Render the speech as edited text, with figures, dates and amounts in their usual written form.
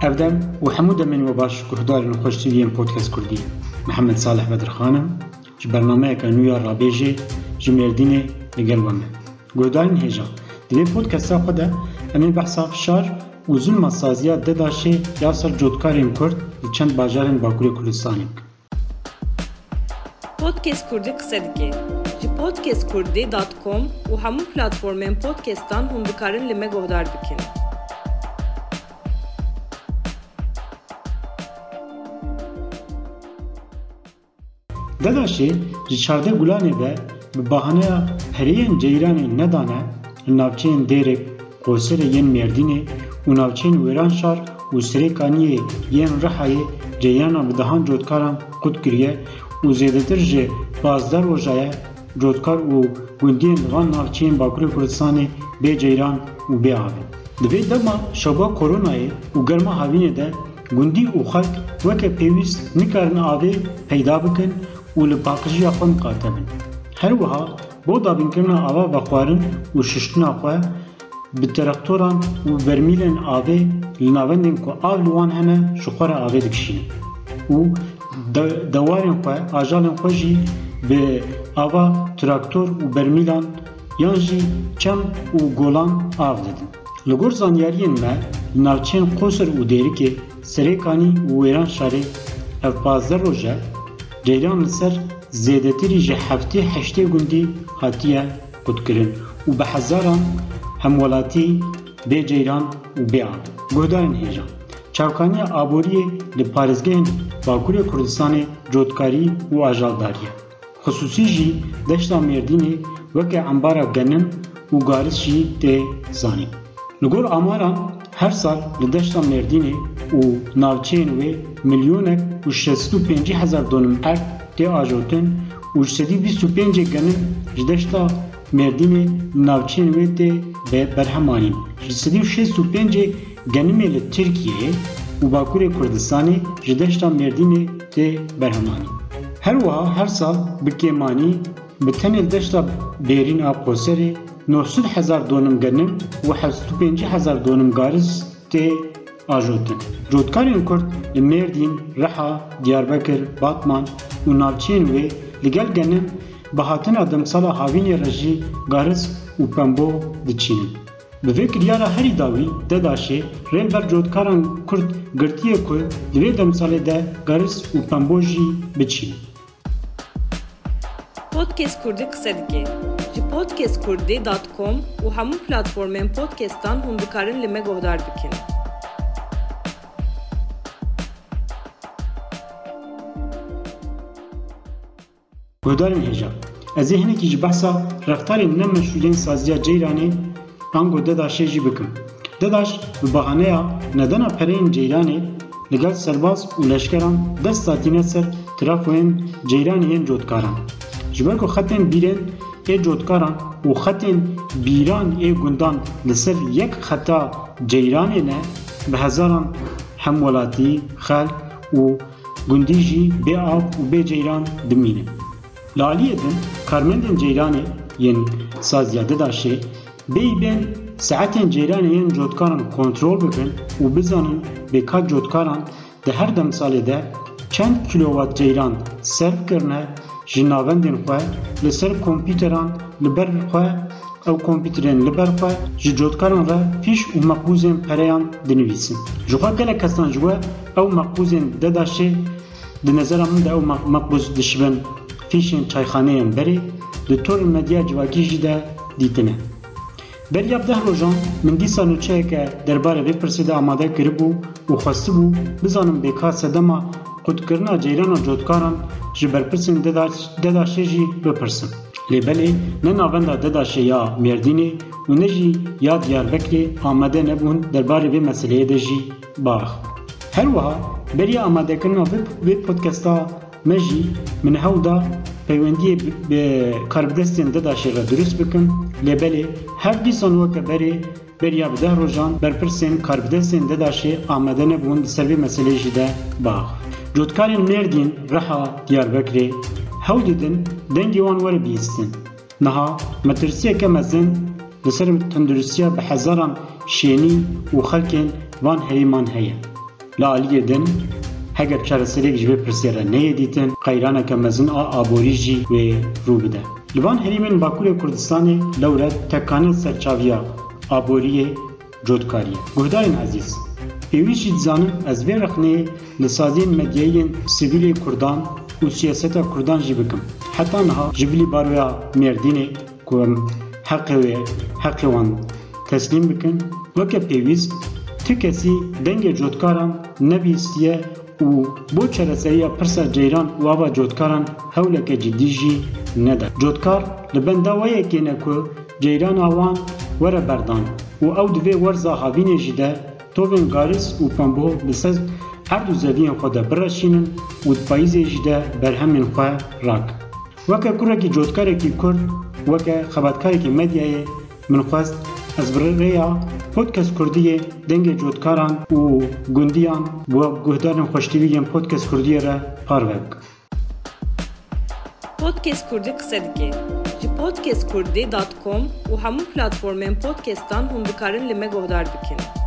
أبدأ وحمود من وباش كهدار نخش تلين بودكاست كردي محمد صالح بدرخانم جو برنامه كانويا رابيجي جميرديني لقلبنا كهدارن هجا دي بودكاستا خدا أمين بحثا شار وزن مسازيات دداشي ياسر جودكارين كرد لچند باجارن باكوري كردستاني Podcast Kurdi kısa dike. Ji podcastkurdi.com û hemû platformên podcastan hûn dikarin li me guhdar bikin. Dedaşê ji çarde gulanê de bi bahaneya heriyên ceyranê nedane li navçeyên Dêrek, Qoserê yên Mêrdînê û navçeyên Wêranşar û Sirêkaniyê yên Rihayê ceyrana bi dehan cotkaran qut kiriye û zêdetir ji 12 rojaya cotkar û gundiyên li van navçeyên Bakurê Kurdistanê bê ceyran û bê avê. Di vê dema şeba koronayê û germa havînê de gundî û xelk weke pêwîst nikarin avê peyda bikin û li paqijiya xwe miqate bin. Her wiha bo dabînkirina ava vexwarin û şiştina xwe bi teraktoran û bermîlên avê li navendên ku av li wan hene ji xwe re avê dikişînin û dewarên xwe ajalên xwe jî bi ava traktor û bermîlan yan jî çem û golan av didin. Li gor zanyariyên me li navçeyên Qoser û Dêrikê, Sirêkanî û Wêranşarê ev 15 roje ceyran li ser zêdetirî ji heftê heştê gundî hatiye qutkirin û bi hezaran hemwelatî bê ceyran û bê avê. Guhdarên hêja çavkaniya aboriyê li parêzgehên Bakurê Kurdistanê cotkarî û ajaldariye. Xusûsî jî deşta Mêrdînê weke embara genim û garis jî tê zanîn. Li gor amaran her sal li deşta Mêrdînê û navçeyên wê milyonek û 65,000 donum erk tê ajotin û 125 genim ji deşta Mêrdînê navçeyên wê tê berhemanîn. 165 genimê li Tirkiyeyê û Bakurê Kurdistanê ji deşta Mêrdînê tê berhemanîn. Her wiha her sal bi kêmanî bi tenê deşta bêrîn a Qoserê 900,000 donum genim û 75,000 donum garis tê ajotin. Cotkarên Kurd li Mêrdîn, Riha, Diyarbekir, Batman û navçeyên wê li gel genim bi hatina demsala havînê re jî garis û pembo diçînin. Bi vê kiryara herî dawî Dedaşê rêber cotkaran Kurd girtiye ku di vê demsalê de garis û pembo jî biçînin. Podcast Kurdi kısa dike. Ji podcastkurdi.com û hemû platformên podcastan hûn dikarin li me guhdar bikin. Guhdarên hêja ez ê hinekî ji behsa reftarên nemeşûlên saziya ceyranê ango Dedaşê jî bikim. Dedaş bi bahaneya nedana pereyên ceyranê li gel serbaz û leşkeran dest datîne ser trafoyên ceyranê yên cotkaran. Ji ber ku xetên bîrên ê cotkaran û xetên bîran ê gundan li ser yek xeta ceyranê ne bi hezaran hemwelatî, xelk û gundî jî bê av û bê ceyran dimînin. Li aliyê din karmendên ceyranê yên saziya Dedaşê bêyîbên saetên ceyranê yên cotkaran kontrol bikin û bizanin bêka cotkaran di her demsalê de çend kilowat ceyran serv kirine ji navendên xwe li ser kompîteran li ber xwe ew kompîterên li ber xwe ji cotkaran re fîş û meqbûzên pereyan dinivîsin. Ji xwe gelek kesan ji we ew meqbûzên Dedaşê di nezera min de ew meqbûz dişibin fîşên çayxaneyên berê di torên medya civakî jî de dîtine. Beriya 10 rojan min dîsa nûçeyeke derbarê vê pirsê de amade kiribû û xwestibû bizanim bêka sedema qutkirina ceyrana cotkaran ji berpirsên Dedaşê jî bipirsin. Lêbelê ne navenda Dedaşê ya Mêrdînê û ne jî ya Diyarbekirê amade nebûn derbarê vê meseleyê de jî baax. Her wiha beriya amadekirina vê podcasta me jî min hew da peywendiyê bi karbidestên Dedaşê re durust bikin. Lêbelê her dîsan weke berê beriya bi 10 rojan berpirsên karbidestên Dedaşê amade nebûn di ser vê meseleyê jî de baax. Cotkarên Mêrdîn, Riha, Diyarbekirê hew didin dengê wan were bihîstin. Niha metirsiyeke mezin li ser tendurustiya bi hezaran şênî û xelkên van herêman heye. La aliye din heger çareserek ji vê pirsyara neyê dîtin qeyraneke mezin a aborî jî wê rû bide. Li van herêmên Bakurê Kurdistanê lewre tekane serçaviya aboriyê cotkarî. Guhdarên ezîz, pêwîst jî dizanin ez vê rexneyê li saziyên medyayên sivîlê Kurdan û siyaseta Kurdan jî bikim. Heta niha ji bilî baroya Mêrdînê ku em heqê wan teslîm bikin, weke pêwîst ti kesî dengê cotkaran nebîstiye û bo çareseriya pirsa ceyran û ava cotkaran hewleke ciddî jî nede. Cotkar li benda wayekê ne ku ceyrana wan were berdan û ew divê werza havînê jî de tovên garis û pembo bi ser her du zeviyên xwe de bireşînin û di payîzê jî de berhemên xwe rak. Weke kurekî cotkarekî Kurd, weke xebatkarekî medyayê min xwest ez bi rêya Podcast Kurdiyê dengê cotkaran û gundiyan bu guhdarên xweştîvî yên Podcast Kurdiyê re parve bikim. Podcast Kurdî qise dike. Ji podcastkurdî.com û hemû platformên podcastan hûn dikarin li me guhdar bikin.